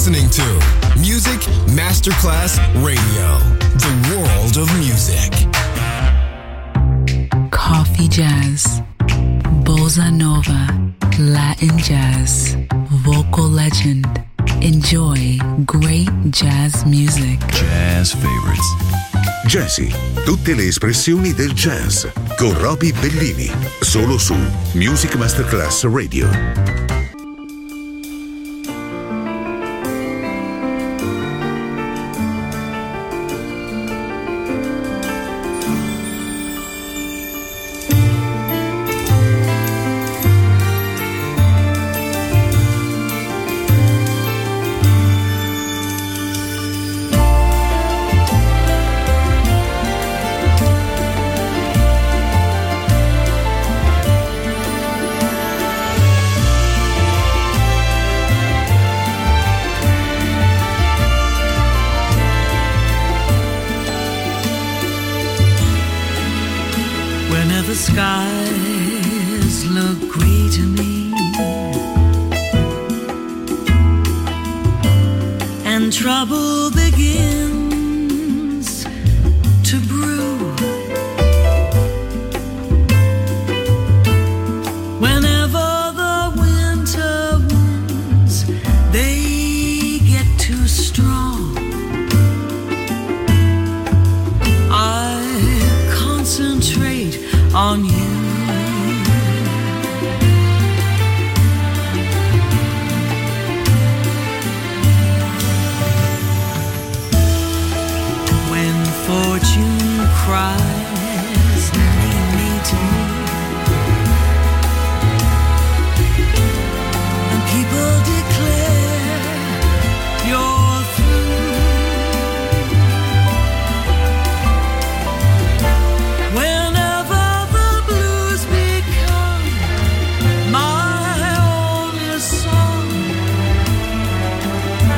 listening to Music Masterclass Radio, the world of music. Coffee jazz, bossa nova, Latin jazz, vocal legend. Enjoy great jazz music. Jazz favorites. Jazzy, tutte le espressioni del jazz con Roby Bellini, solo su Music Masterclass Radio.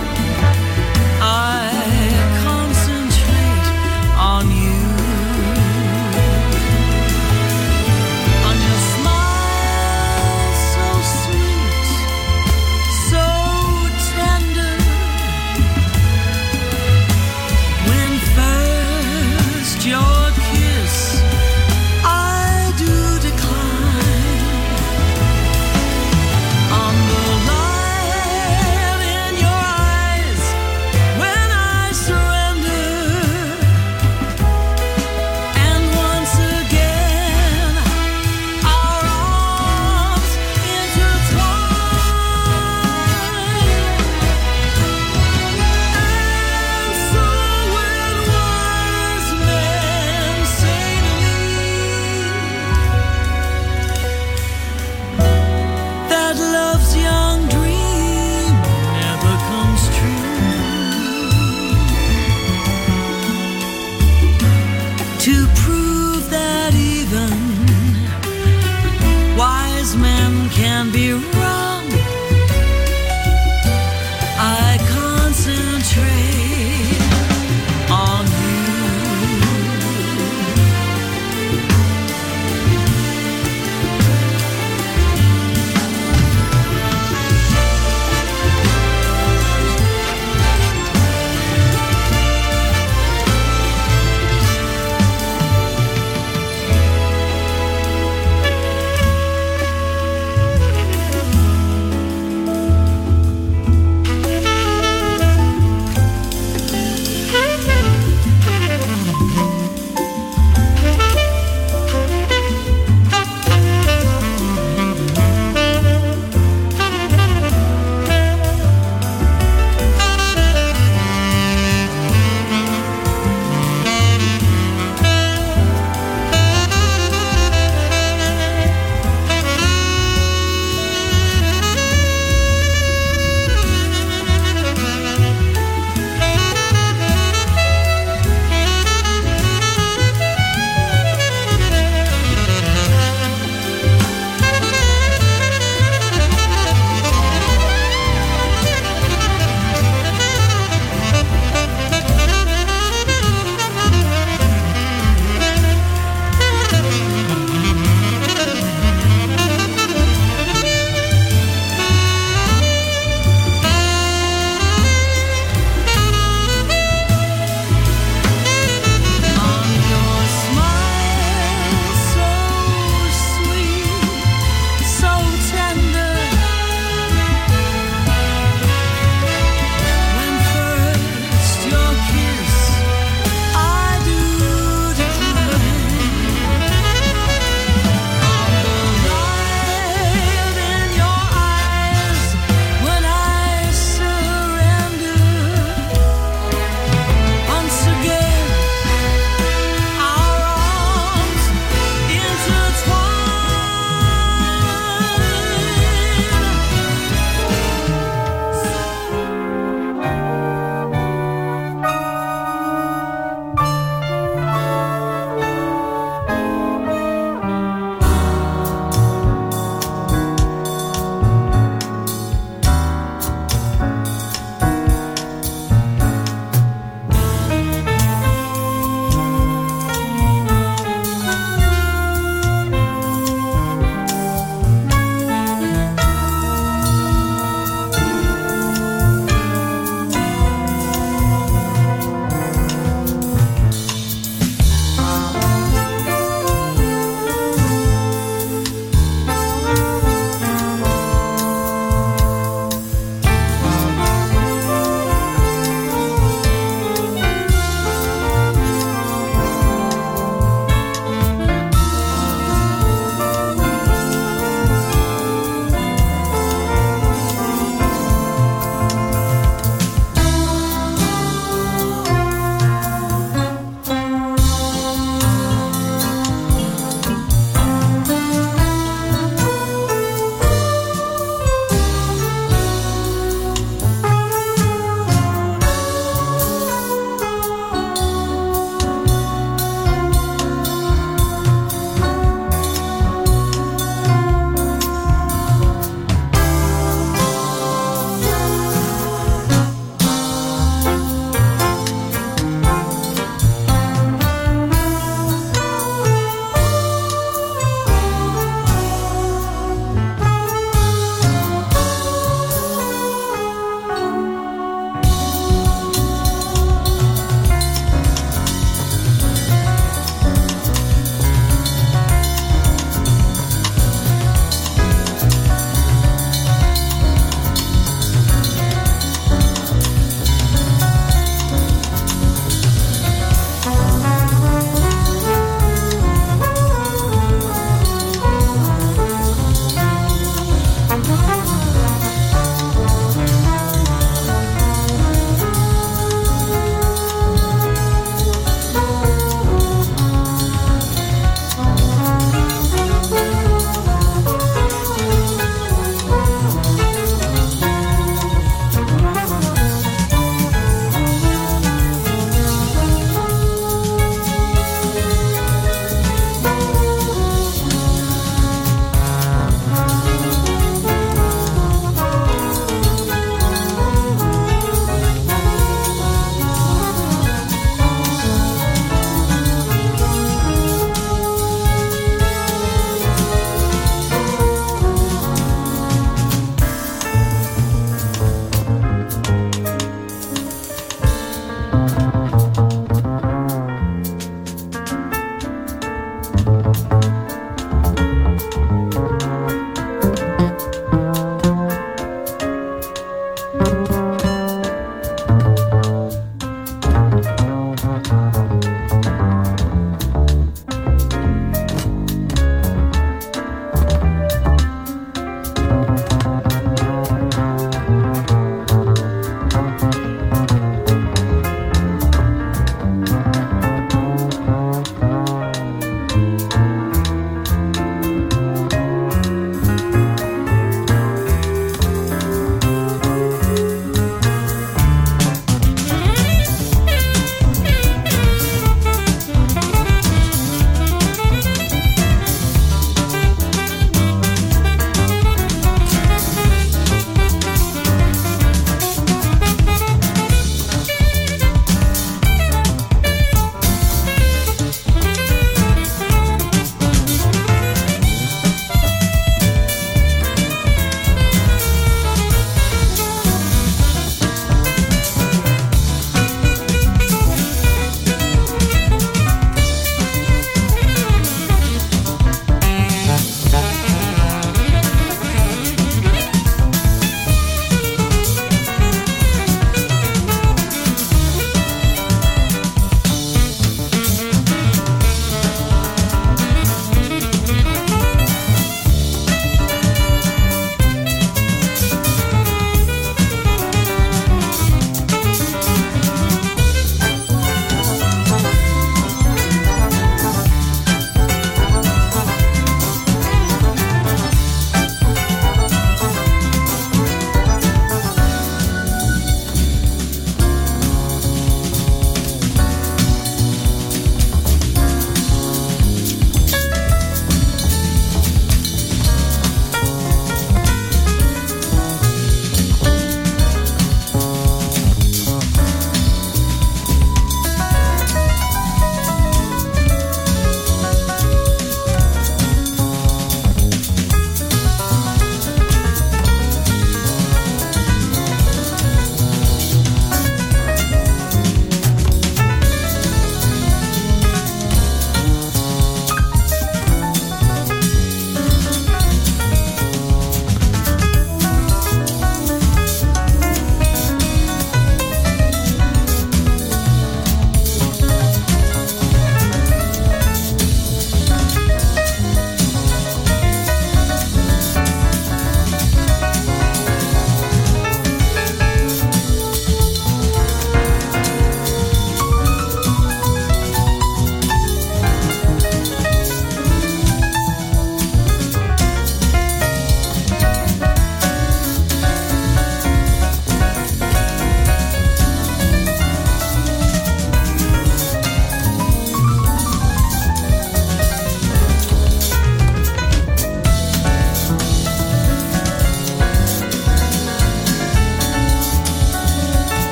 I concentrate on you.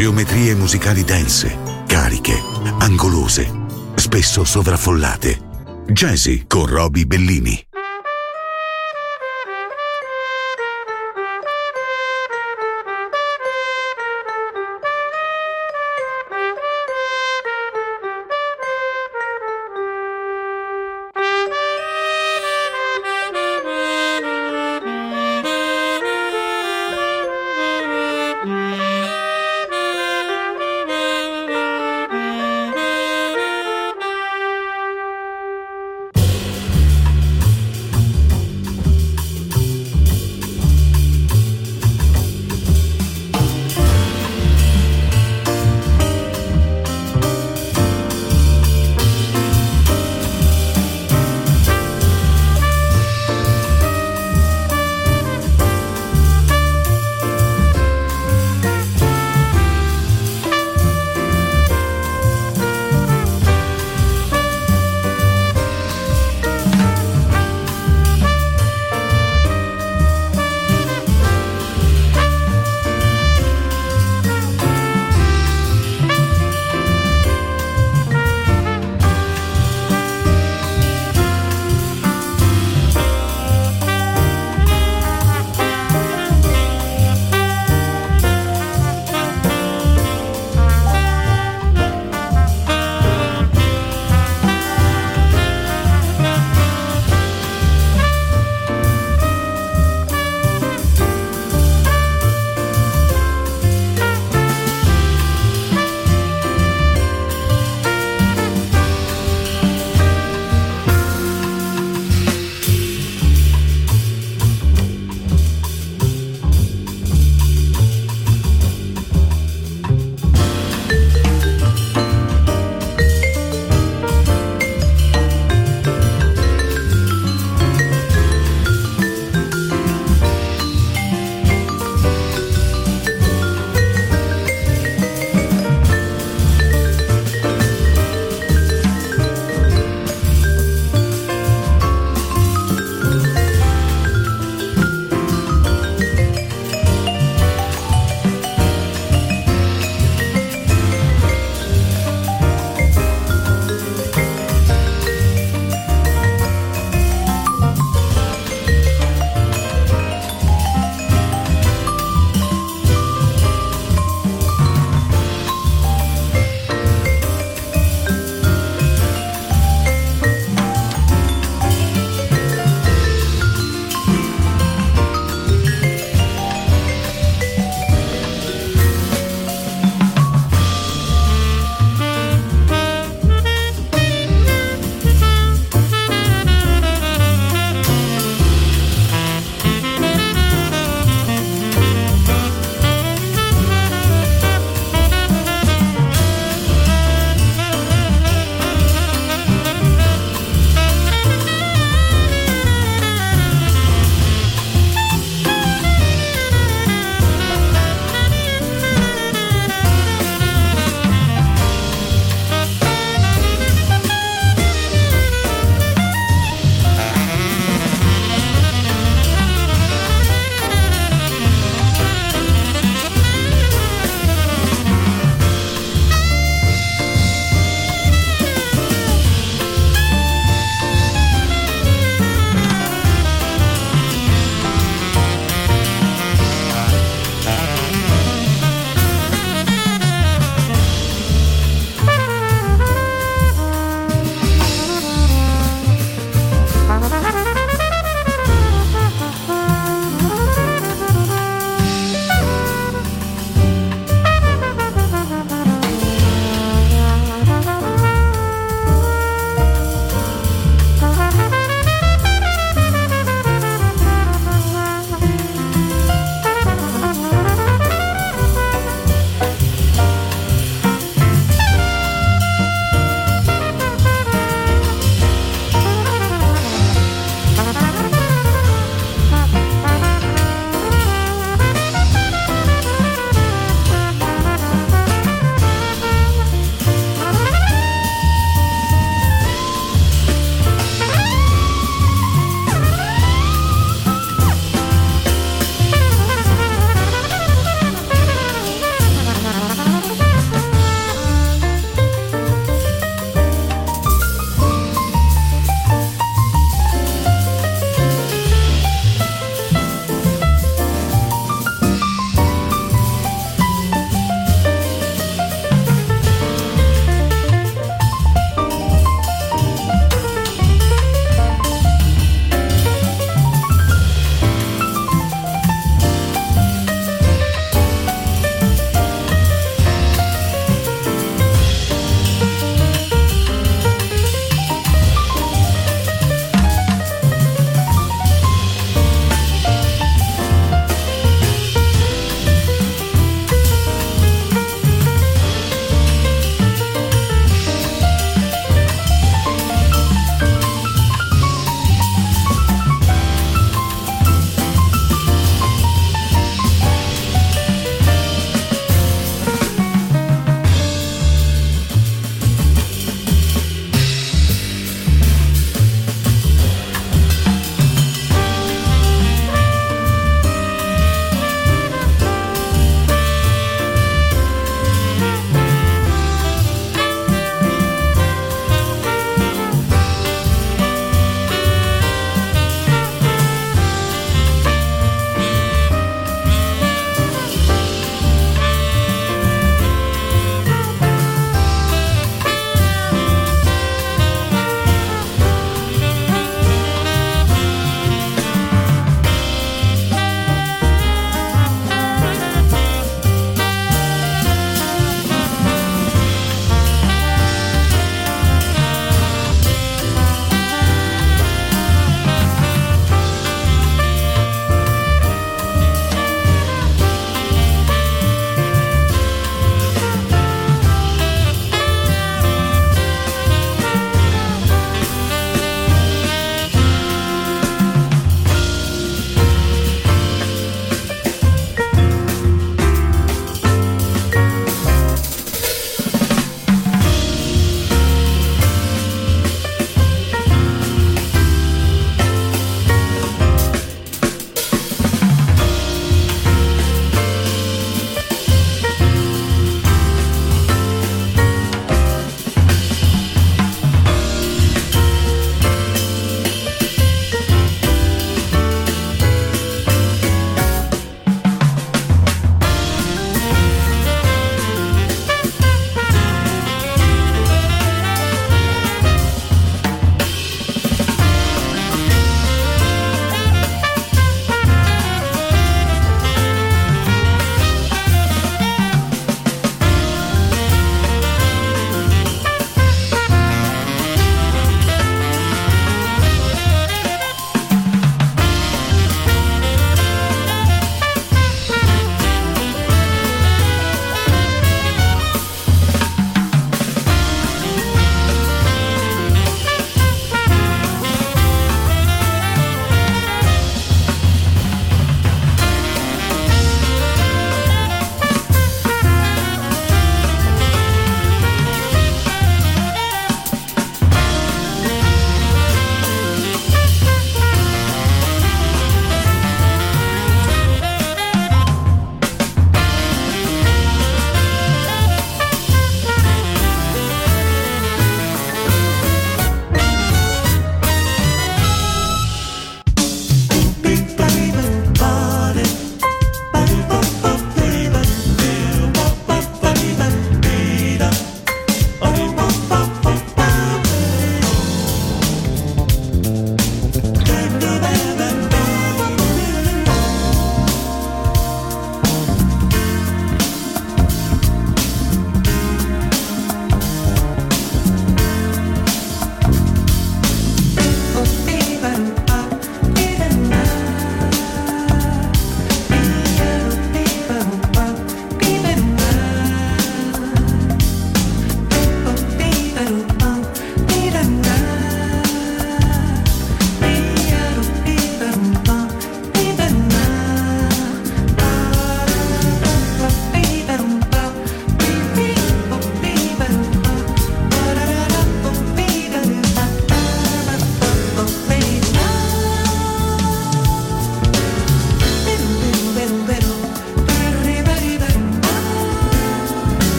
Geometrie musicali dense, cariche, angolose, spesso sovraffollate. Jazzy con Roby Bellini.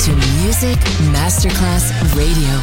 to Music Masterclass Radio.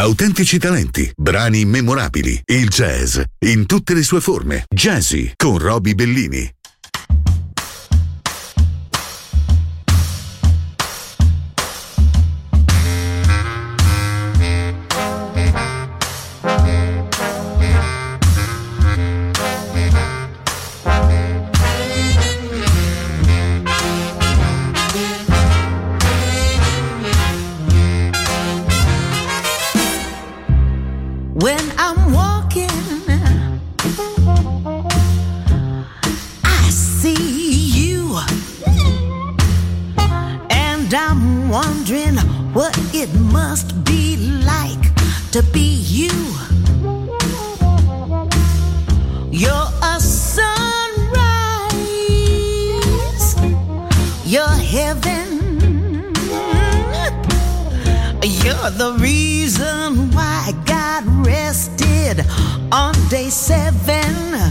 autentici talenti, brani memorabili, il jazz in tutte le sue forme. Jazzy con Roby Bellini. When I'm walking, I see you, and I'm wondering what it must be like to be you. You're a sunrise, you're heaven. You're the reason why God rested on day 7.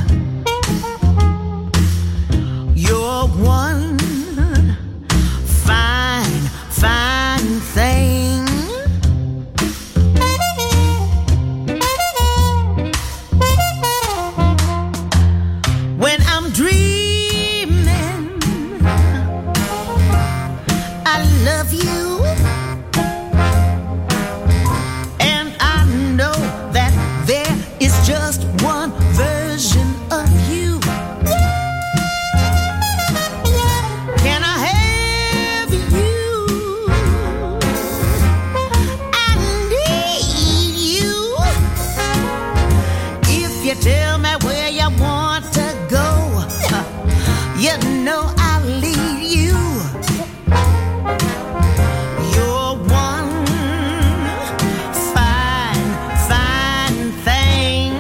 You're one fine, fine thing. When I'm dreaming, I love you. Just one version of you. Can I have you? I need you. If you tell me where you want to go, you know I'll lead you. You're one fine, fine thing.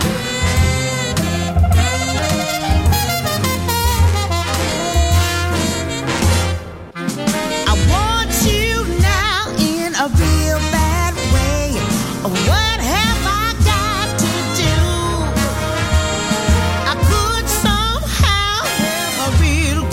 A real bad way. What have I got to do? I could somehow have a real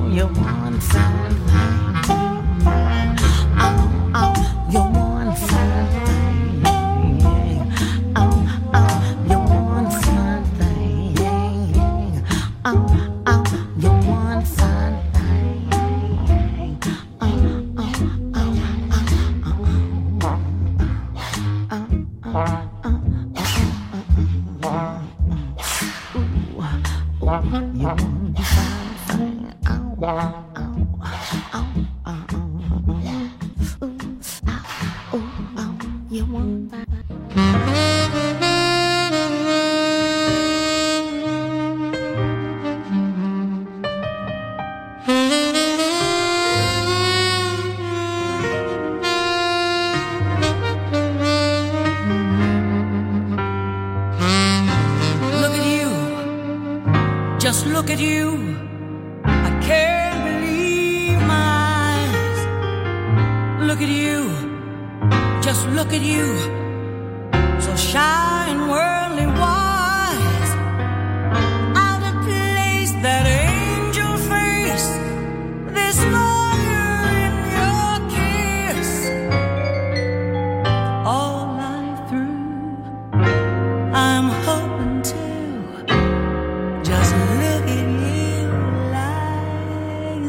you're one fine thing. You're one fine thing. You're one fine thing. You're one fine Just look at you, I can't believe my eyes. Look at you, just look at you, so shy and worldly wise. Out of place, that angel face, this lawyer in your kiss. All life through, I'm hoping to just look at you like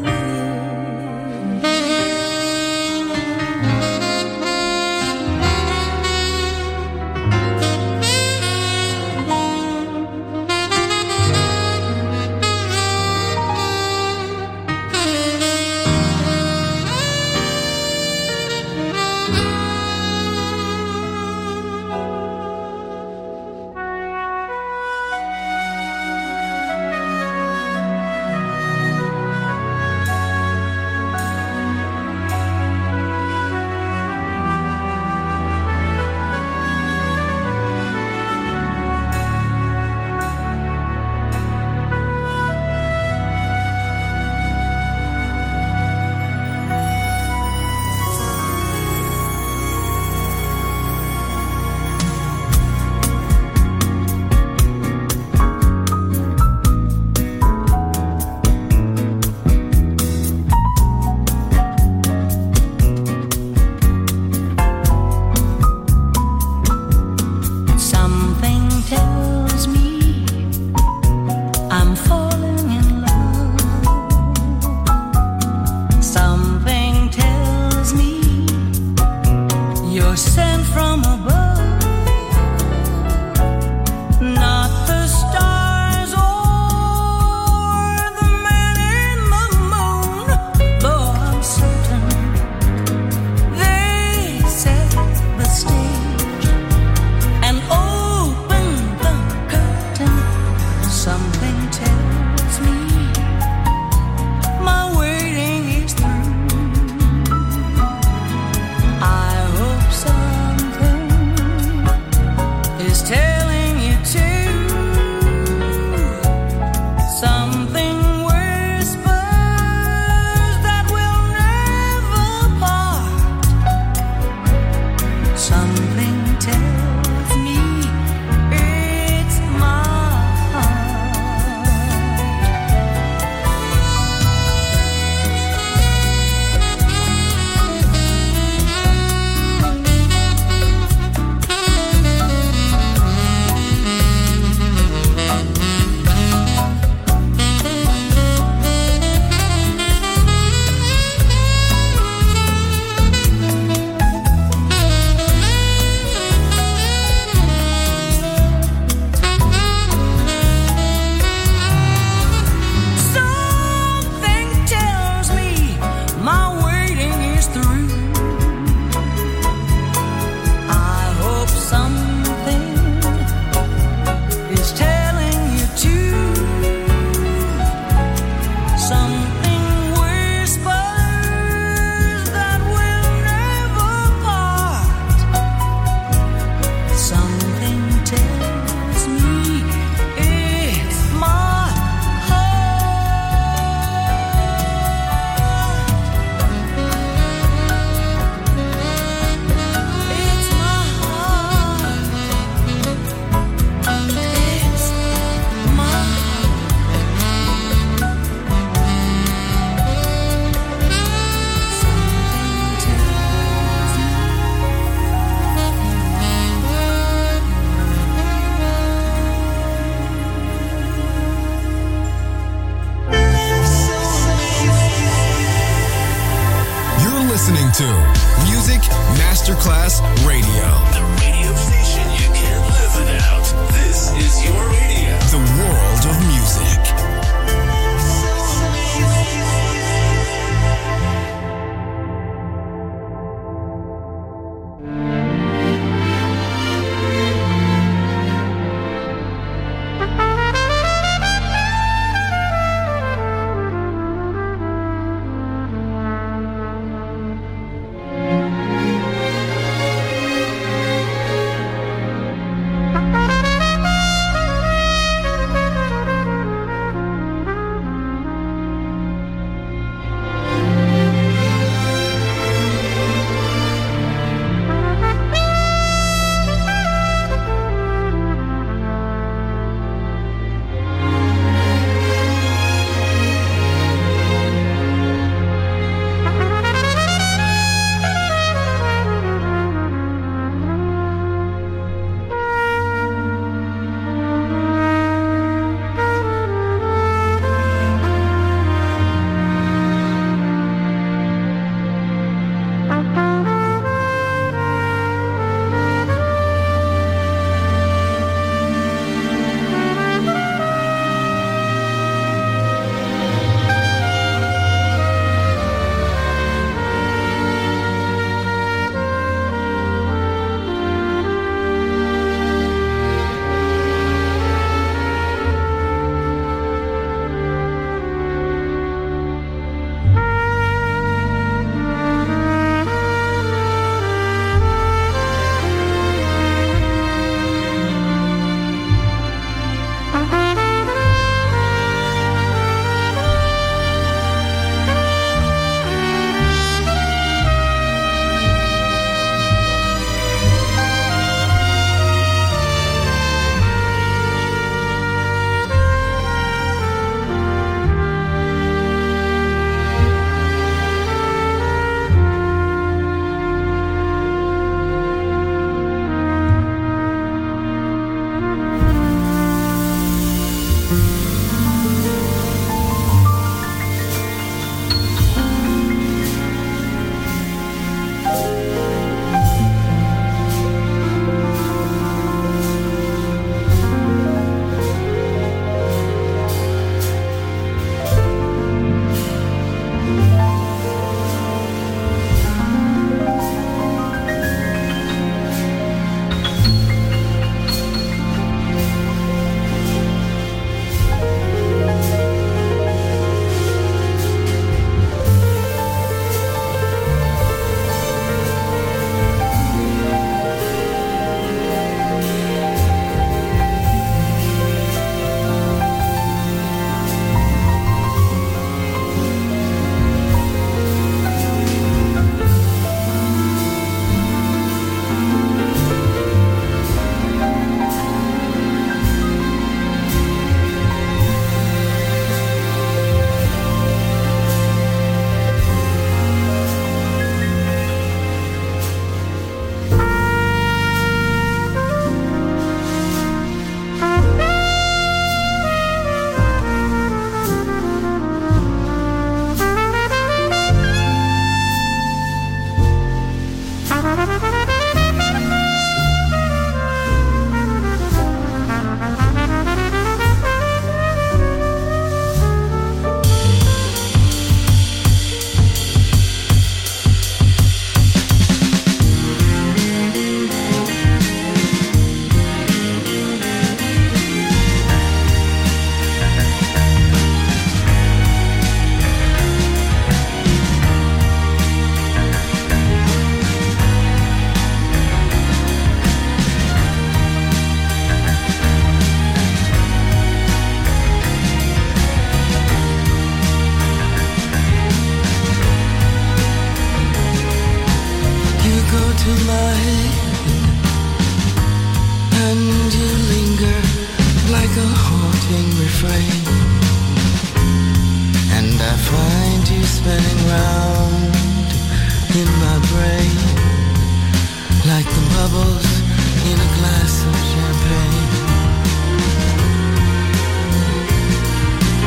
to Music Masterclass Radio. The radio station you can't live without. This is your radio. The world of music.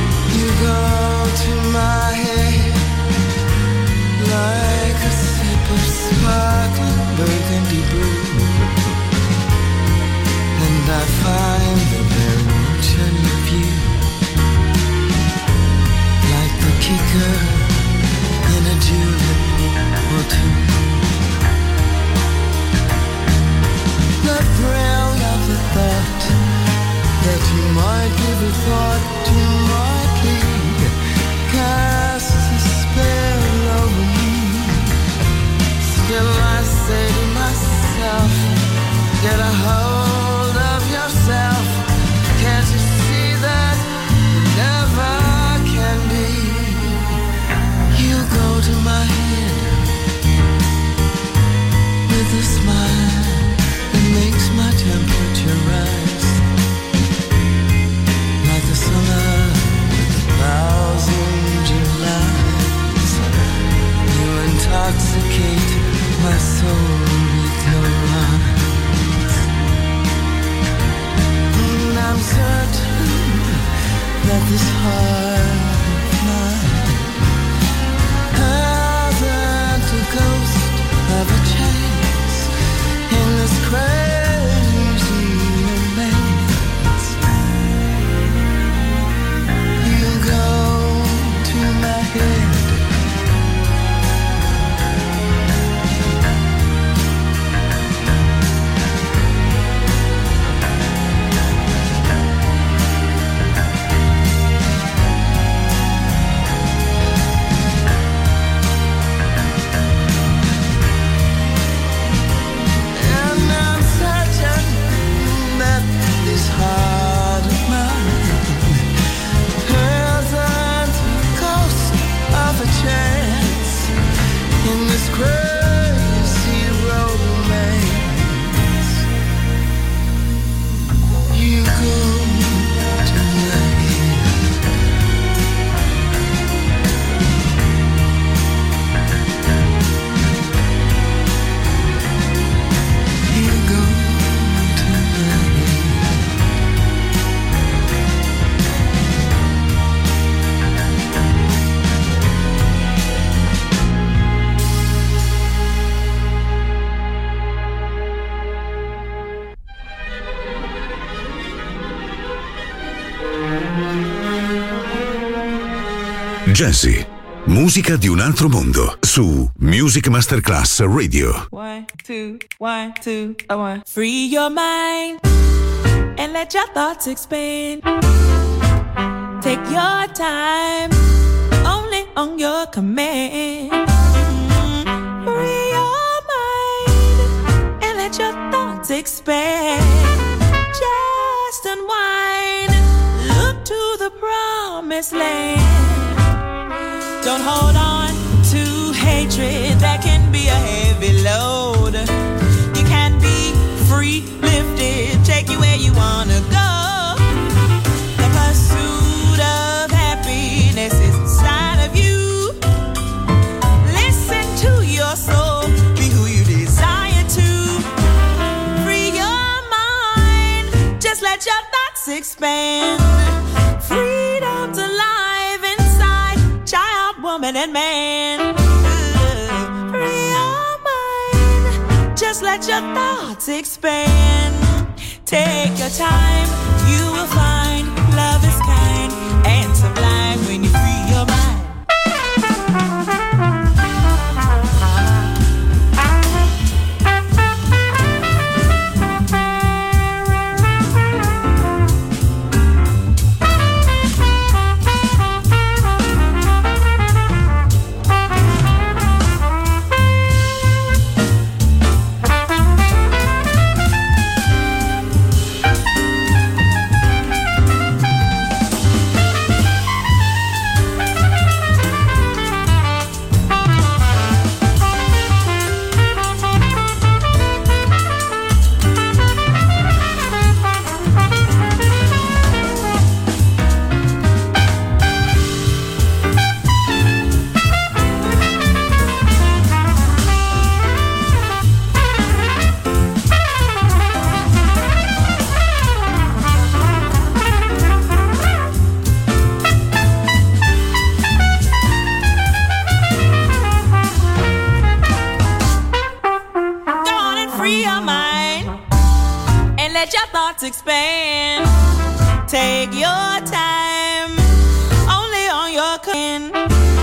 Like a sip thicker than a julep or two. The thrill of the thought that you might give a thought to my plea casts a spell over me. Still I say to myself, get a hold of yourself. Can't you see that it never can be? You go to my head with a smile that makes my temperature rise, like the summer with 1,000 Julys. You intoxicate my soul with your eyes. And I'm certain that this heart of mine hasn't a ghost of a chance in this crazy romance. You go to my head heart of mine hasn't a ghost of a chance in this crazy romance. You go to my head. You go to my head. Jazzy, musica di un altro mondo, su Music Masterclass Radio. 1, 2, 1, 2, 1. Free your mind and let your thoughts expand. Take your time, only on your command. Free your mind and let your thoughts expand. Just unwind, look to the promised land. Don't hold on to hatred, that can be a heavy load. You can be free, lifted, take you where you wanna go. The pursuit of happiness is inside of you. Listen to your soul, be who you desire to. Free your mind, just let your thoughts expand. Freedom's alive inside, child, woman, and man. Free your mind, just let your thoughts expand. Take your time, you will find love is kind and sublime when you free your mind. let your thoughts expand. Take your time, only on your can.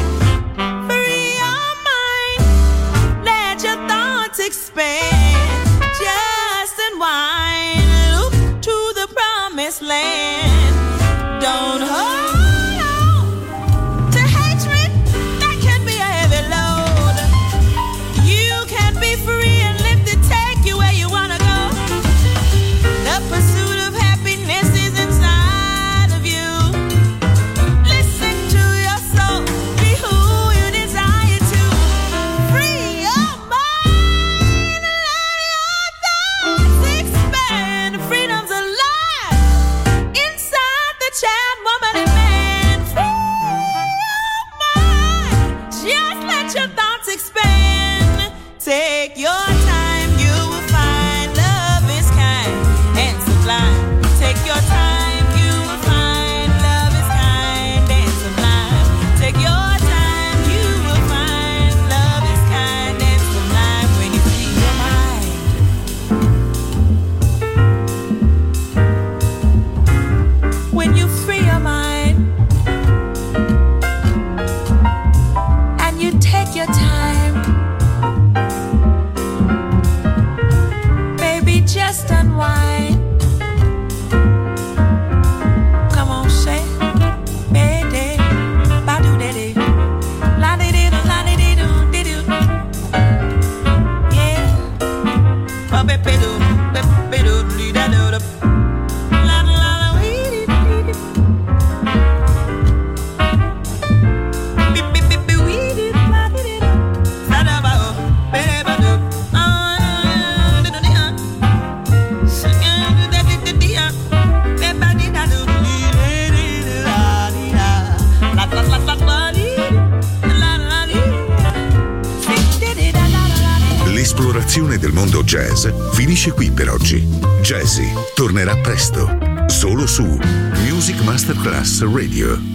expand. Just unwind, look to the promised land. Don't hold on to hatred, that can be a heavy load. You can be free and live to take you where you wanna go. The pursuit of happiness is inside of you. Listen to your soul, be who you desire to. Free your mind, let your thoughts expand. Freedom's alive inside the child, woman, and man. Free your mind, just let your thoughts expand. Take your time, you will find love is kind and sublime. Take your time, you will find love is kind and sublime. Take your time, you will find love is kind and sublime when you free your mind. When you free your mind and you take your time, baby, just unwind. Come on, say, baby, ba-do-de-de, la-de-de-do, la-de-de-do-de-do. Yeah, ba-be-be-do, be-be-do, dee-da-do-do. La-la-la-wee-dee-dee-dee. Be-be-be-be-wee-dee, la-de-de-do. Sa-da-ba-o, be-ba-do. Ah-da-da-da-da. Sa-da-da-da-da-da. Be-ba-dee-da-do, dee-dee-dee-da-dee-da. La-la-la-la-la-dee. La-la-la-dee. Dee-dee-da-da-da-da. L'esplorazione del mondo jazz finisce qui per oggi. Jazzy tornerà presto, solo su Music Masterclass Radio.